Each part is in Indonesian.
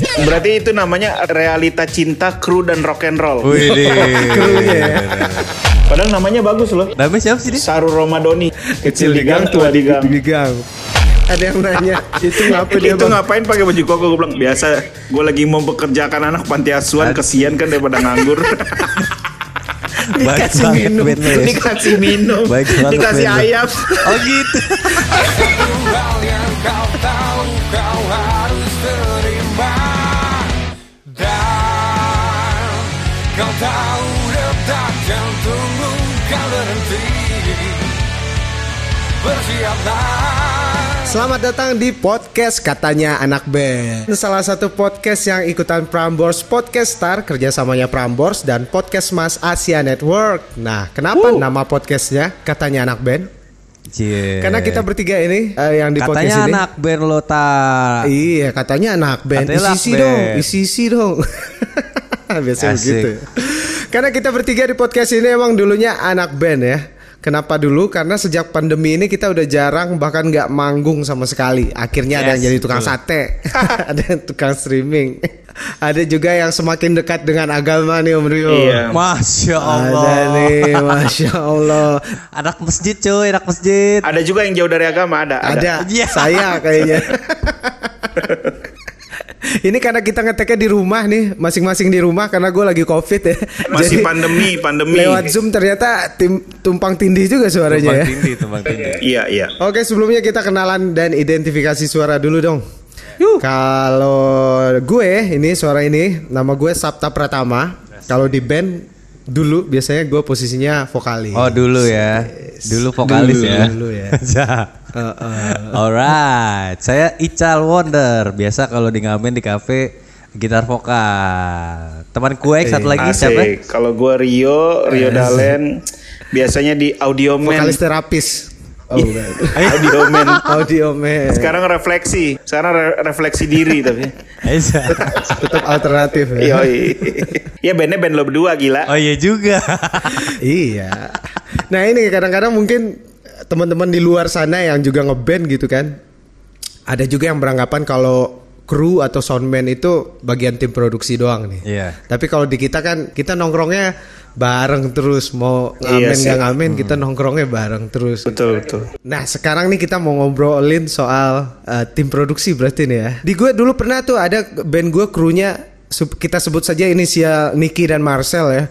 Berarti itu namanya realita cinta kru dan rock and roll. Wih, Krunya ya. Padahal namanya bagus loh. namanya siapa sih dia? Saru Romadoni, kecil di gang, tua di gang. Di gang. Ada yang nanya, itu ngapa dia Itu bang? ngapain pakai baju koko? Gue bilang biasa. Gue lagi mau bekerjakan anak panti asuhan, kesian kan daripada nganggur. Dikasih banget minum. band lo ya. Dikasih minum, Baik banget dikasih band lo. ayam. Oh gitu. Hal yang kau tahu kau harus terima. Dan kau tahu detak jantungmu kau berhenti. Bersiaplah. Selamat datang di podcast Katanya Anak Band. Salah satu podcast yang ikutan Prambors Podcast Star, kerjasamanya Prambors dan Podcast Mas Asia Network. Nah, kenapa nama podcastnya Katanya Anak Band? Cie. Karena kita bertiga ini yang di katanya podcast ini. anak band lo tak. Iya, katanya anak band. Katanya anak Isi band. dong, isi dong. Biasanya Asik. begitu. Karena kita bertiga di podcast ini emang dulunya anak band ya. Kenapa dulu? Karena sejak pandemi ini kita udah jarang bahkan nggak manggung sama sekali. Akhirnya ada yang jadi tukang sate, ada yang tukang streaming, ada juga yang semakin dekat dengan agama nih Om Rio. Iya. Masya Allah. Ada nih, masya Allah. Anak masjid cuy, anak masjid. Ada juga yang jauh dari agama, ada. Ada, Iya. saya kayaknya. Ini karena kita ngeteknya di rumah nih, masing-masing di rumah karena gue lagi COVID ya. Masih Jadi, pandemi. lewat Zoom ternyata tumpang tindih juga suaranya ya. Tumpang tindih. Iya. Oke, sebelumnya kita kenalan dan identifikasi suara dulu dong. Kalau gue ini suara ini, nama gue Sabta Pratama. Kalau di band dulu biasanya gue posisinya vokalis. Oh dulu ya. Dulu vokalis ya. Dulu ya. Alright, saya Ical Wonder. Biasa kalau di ngamen di kafe gitar vokal. Teman kue satu lagi siapa? Asik. Kalau gue Rio Dalen, biasanya di Audioman. Vokalis terapis. Oh, bukan. Audioman. Audioman. Sekarang refleksi. Refleksi diri tapi. Tetap alternatif ya. Yoi. Ya bandnya band lo berdua gila. Oh iya juga. Iya. Nah ini kadang-kadang mungkin teman-teman di luar sana yang juga ngeband gitu kan, ada juga yang beranggapan kalau kru atau soundman itu bagian tim produksi doang nih. Iya. Tapi kalau di kita kan kita nongkrongnya bareng terus, mau Iya ngamen sih. nggak ngamen kita nongkrongnya bareng terus. Betul. Nah sekarang nih kita mau ngobrolin soal tim produksi berarti nih ya. Di gue dulu pernah tuh ada band gue krunya kita sebut saja inisial Nicky dan Marcel ya.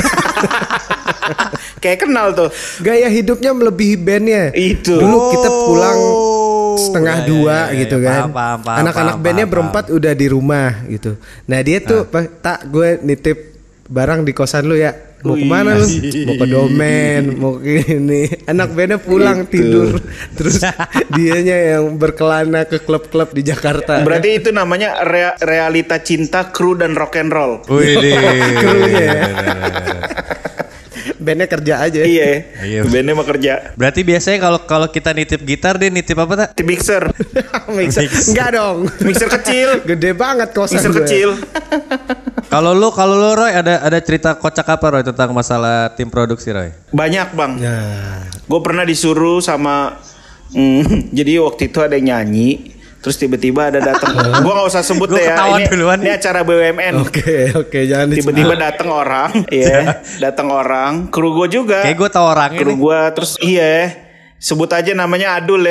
Kayak kenal tuh. Gaya hidupnya melebihi bandnya. Itu. Dulu kita pulang setengah ya, dua ya, gitu ya, kan. paham, Anak-anak bandnya paham. berempat udah di rumah gitu. Nah dia tuh tak gue nitip barang di kosan lu ya. Mau kemana lu? Mau ke domain, mau ke ini. Anak bandnya pulang tidur. Terus dianya yang berkelana ke klub-klub di Jakarta. Berarti itu namanya realita cinta kru dan rock and roll. Wih, Krunya ya. Bandnya kerja aja. Iya. Bandnya mau kerja. Berarti biasanya kalau kita nitip gitar dia nitip apa tak? Di mixer. Mixer. Enggak dong. Mixer kecil. Gede banget kosan Mixer gue. kecil. Kalau lu Roy ada cerita kocak apa Roy tentang masalah tim produksi Roy? Banyak bang. Nah, Gue pernah disuruh sama jadi waktu itu ada yang nyanyi, terus tiba-tiba ada datang. Gue nggak usah sebut Gua deh ya. ketahuan duluan Ini nih. acara BUMN. Oke, jangan Tiba-tiba datang orang, datang orang. Kru gue juga. Kayak gue tau orangnya Kru nih. gue terus sebut aja namanya Adul ya.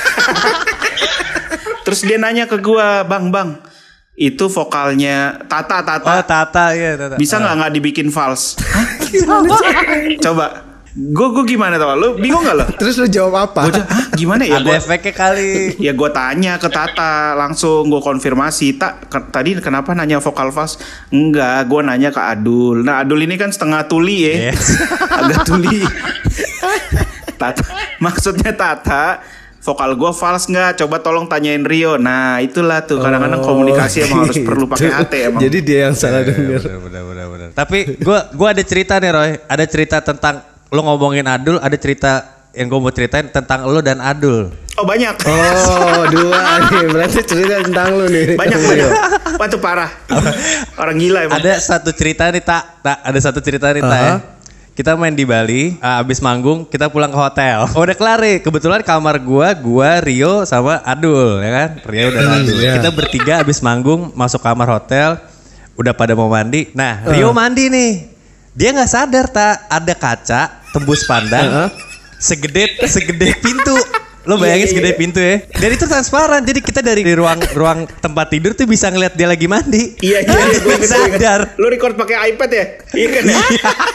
Terus dia nanya ke gue, bang, itu vokalnya Tata. Oh Tata ya Tata. Bisa nggak dibikin false? Coba. Gue gimana tau? Lu bingung nggak lo? Terus lu jawab apa? Gimana ya? Ada efeknya kali. Ya gue tanya ke Tata, langsung gue konfirmasi. Tadi kenapa nanya vokal false? Enggak, gue nanya ke Adul. Nah Adul ini kan setengah tuli ya. Yes. Agak tuli. Maksudnya Tata, vokal gue false nggak? Coba tolong tanyain Rio. Nah itulah tuh kadang-kadang komunikasi emang harus perlu pakai hati emang. Jadi dia yang salah denger. Benar. Tapi gue ada cerita nih Roy. Ada cerita tentang lo ngomongin Adul. Ada cerita yang gue mau ceritain tentang lo dan Adul. Oh banyak. Oh, dua nih. Berarti cerita tentang lu nih. Banyak. Wah tuh parah. Orang gila emang. Ada satu cerita nih tak. Ada satu cerita nih tak ya. Kita main di Bali, abis manggung kita pulang ke hotel. Udah kelar nih, kebetulan kamar gua, Rio sama Adul ya kan. Rio dan Adul. Kita bertiga abis manggung masuk kamar hotel, udah pada mau mandi. Nah, Rio mandi nih. Dia nggak sadar ada kaca tembus pandang segede pintu. Lo bayangin segede pintu ya. Dan itu transparan. Jadi kita dari ruang tempat tidur tuh bisa ngeliat dia lagi mandi. Iya, gue sadar. Lu record pakai iPad ya? Iya kan ya?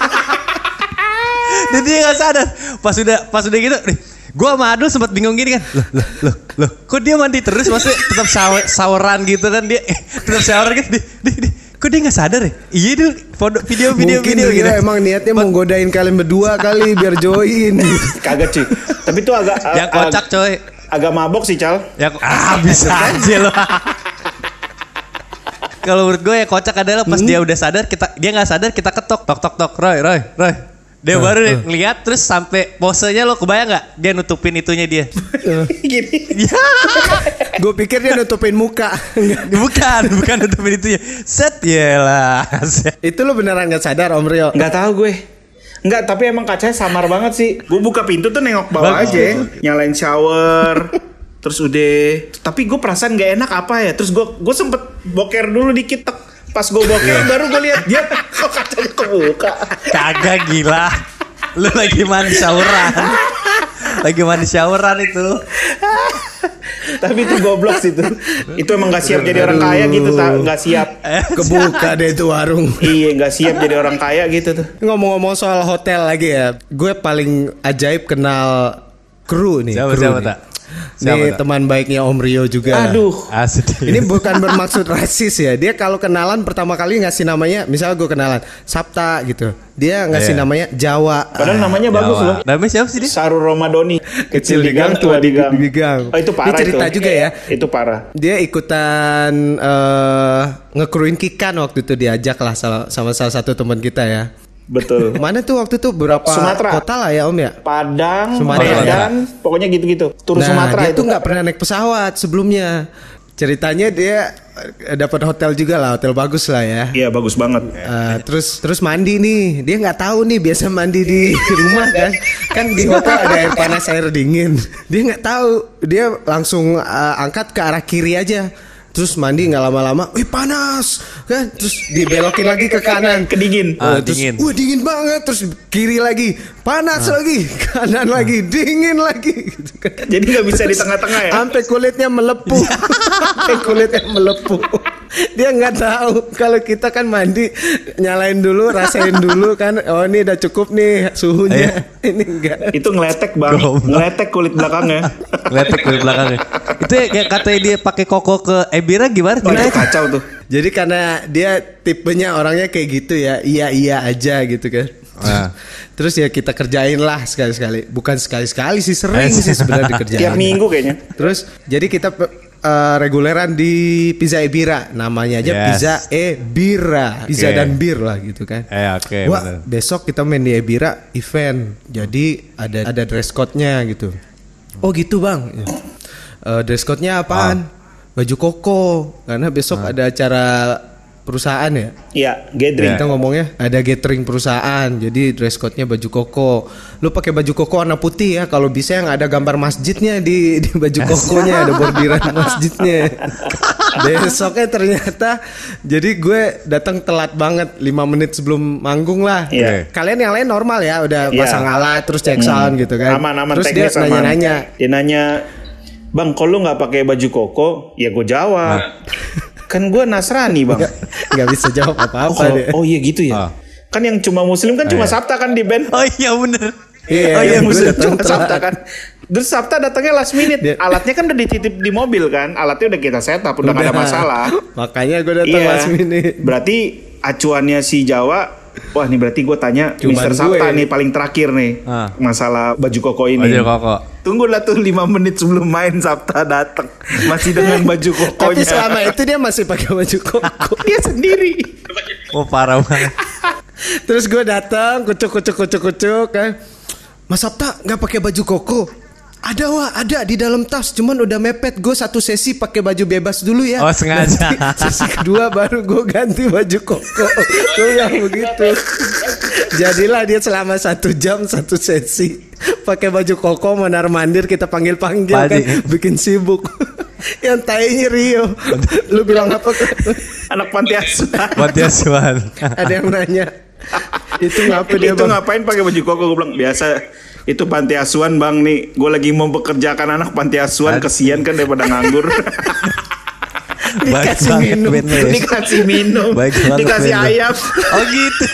Dan dia gak sadar. Pas udah gitu, gue sama Adul sempat bingung gini kan. Loh, kok dia mandi terus? Maksudnya tetap saweran gitu kan dia. Tetap saweran gitu. Kok dia gak sadar ya? Iya dulu, video Mungkin dia gitu. emang niatnya mau godain kalian berdua kali biar join. Kagak cuy. Tapi itu agak Yang kocak coy. Agak mabok sih Cal. Bisa aja loh. Kalau menurut gue yang kocak adalah pas dia udah sadar, dia nggak sadar kita ketok tok Roy. Dia baru ngeliat terus sampai posenya lo kebayang nggak dia nutupin itunya dia. Gini. Gue pikir dia nutupin muka. bukan nutupin itunya. Set yelah. Itu lo beneran nggak sadar Om Rio? Nggak tahu gue. Enggak, tapi emang kacanya samar banget sih. Gue buka pintu tuh nengok bawah aja, nyalain shower. Terus udah, tapi gue perasaan gak enak apa ya. Terus gue sempet boker dulu dikit. Pas gue boker baru gue lihat dia kok kacanya kebuka. Kagak gila. Lu lagi mandi showeran itu. Tapi itu goblok sih tuh. Itu emang gak siap jadi orang kaya gitu, gak siap. Kebuka deh itu warung. Iya, gak siap jadi orang kaya gitu tuh. Ngomong-ngomong soal hotel lagi ya, gue paling ajaib kenal kru nih. Siapa tak? Nih teman baiknya Om Rio juga. Aduh. Ini bukan bermaksud rasis ya. Dia kalau kenalan pertama kali ngasih namanya, misalnya gue kenalan Sapta gitu, dia ngasih namanya Jawa. Padahal namanya bagus loh. Namanya siapa sih dia? Saru Romadoni. Kecil di gang, tua di gang. Oh, itu parah. Ini cerita itu juga ya. Itu parah. Dia ikutan ngekruin Kikan waktu itu, diajak lah sama salah satu teman kita ya. Betul. Mana tuh waktu itu berapa Sumatera. kota lah ya Om ya? Padang, Sumatera. Medan, pokoknya gitu-gitu. Tur Sumatera dia itu tuh nggak pernah naik pesawat sebelumnya. Ceritanya dia dapat hotel juga lah, hotel bagus lah ya. Iya, bagus banget. Terus mandi nih, dia nggak tahu nih biasa mandi di rumah kan di hotel ada air panas air dingin. Dia nggak tahu, dia langsung angkat ke arah kiri aja. Terus mandi nggak lama-lama, wih panas kan, terus dibelokin lagi ke kanan, Kedingin. Terus, Dingin. wah dingin banget, terus kiri lagi, panas lagi, kanan lagi, dingin lagi. Gitu kan. Jadi nggak bisa di tengah-tengah ya. Sampai kulitnya melepuh, Dia nggak tahu kalau kita kan mandi, nyalain dulu, rasain dulu kan, oh ini udah cukup nih suhunya, ini enggak. Itu ngeletek bang, ngeletek kulit belakangnya. Itu ya katanya dia pakai koko ke Ebira gimana? Oh, itu kacau tuh. Jadi karena dia tipenya orangnya kayak gitu ya, iya aja gitu kan. Terus ya kita kerjain lah sekali-sekali, bukan sekali-sekali sih, sering sih sebenarnya dikerjain. Tiap minggu kayaknya. Terus jadi kita reguleran di Pizza Ebira, namanya aja Pizza Ebira, pizza dan bir lah gitu kan. Oke. Wah, besok kita main di Ebira event, jadi ada dress code-nya gitu. Oh gitu bang. Dress code-nya apaan? Baju koko, karena besok ada acara perusahaan ya. Iya, gathering. Kita ngomongnya ada gathering perusahaan, jadi dress code-nya baju koko. Lu pakai baju koko warna putih ya, kalau bisa yang ada gambar masjidnya di baju kokonya, ada bordiran masjidnya. Besoknya ternyata, jadi gue datang telat banget 5 menit sebelum manggung lah. Iya. Kalian yang lain normal ya, udah pasang alat terus cek sound gitu kan. Aman-aman, terus dia teknis aman. nanya-nanya. Dia nanya, bang, kalau lu nggak pakai baju koko, ya gue jawab. Kan gue Nasrani bang. Nggak bisa jawab apa-apa dia. Oh iya gitu ya. Kan yang cuma muslim kan cuma Sabta kan di band. Oh iya bener. Iya, muslim gue cuma datang Sabta telat. kan. Terus Sabta datangnya last minute. Alatnya kan udah dititip di mobil kan. Alatnya udah kita setup, udah nggak ada masalah. Makanya gue datang last minute. Berarti acuannya si Jawa. Wah nih berarti gue tanya Cuman Mr. Sabta gue. nih paling terakhir nih masalah baju koko ini. Baju koko. Tunggulah tuh 5 menit sebelum main Sabta datang masih dengan baju kokonya. Tapi selama itu dia masih pakai baju koko. Dia sendiri. Oh parah banget. Terus gue datang kucuk kan. Mas Sabta nggak pakai baju koko. Ada di dalam tas, cuman udah mepet. Gue satu sesi pakai baju bebas dulu ya. Oh, sengaja. Nanti sesi kedua baru gue ganti baju koko. Gue bilang begitu. Jadilah dia selama 1 jam 1 sesi pakai baju koko, mondar-mandir, kita panggil-panggil kan, bikin sibuk. Yang tainya Rio. Lu bilang apa? Anak panti asuhan. Panti asuhan. Ada yang nanya. Itu ngapa dia, Itu Bang? ngapain pakai baju koko? Gue bilang biasa. Itu panti asuhan bang nih. Gue lagi mau bekerjakan anak panti asuhan. Kesian kan daripada nganggur. Dikasih minum. Dikasih minum. Dikasih ayam. Oh gitu.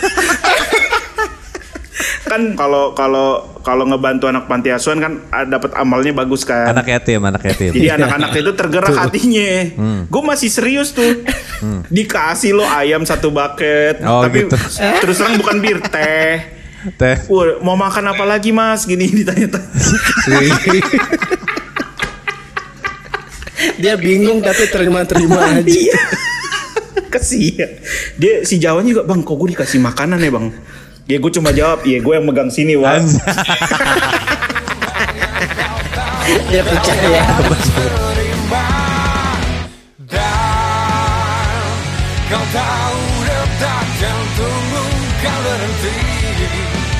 Kan kalau ngebantu anak panti asuhan kan dapat amalnya bagus kan. Anak yatim. Jadi anak-anak itu tergerak hatinya. Gue masih serius tuh. Dikasih lo ayam 1 bucket. Oh, tapi gitu. terus terang bukan bir, teh. Teh. Mau makan apa lagi mas? Gini ditanya. Dia bingung tapi terima-terima aja. Iya. Kesian. Dia si Jawanya juga, bang kok gue dikasih makanan ya bang? Ya gue cuma jawab, ya gue yang megang sini bang. Dia percaya. Kau tahu detak jantungmu kau berhenti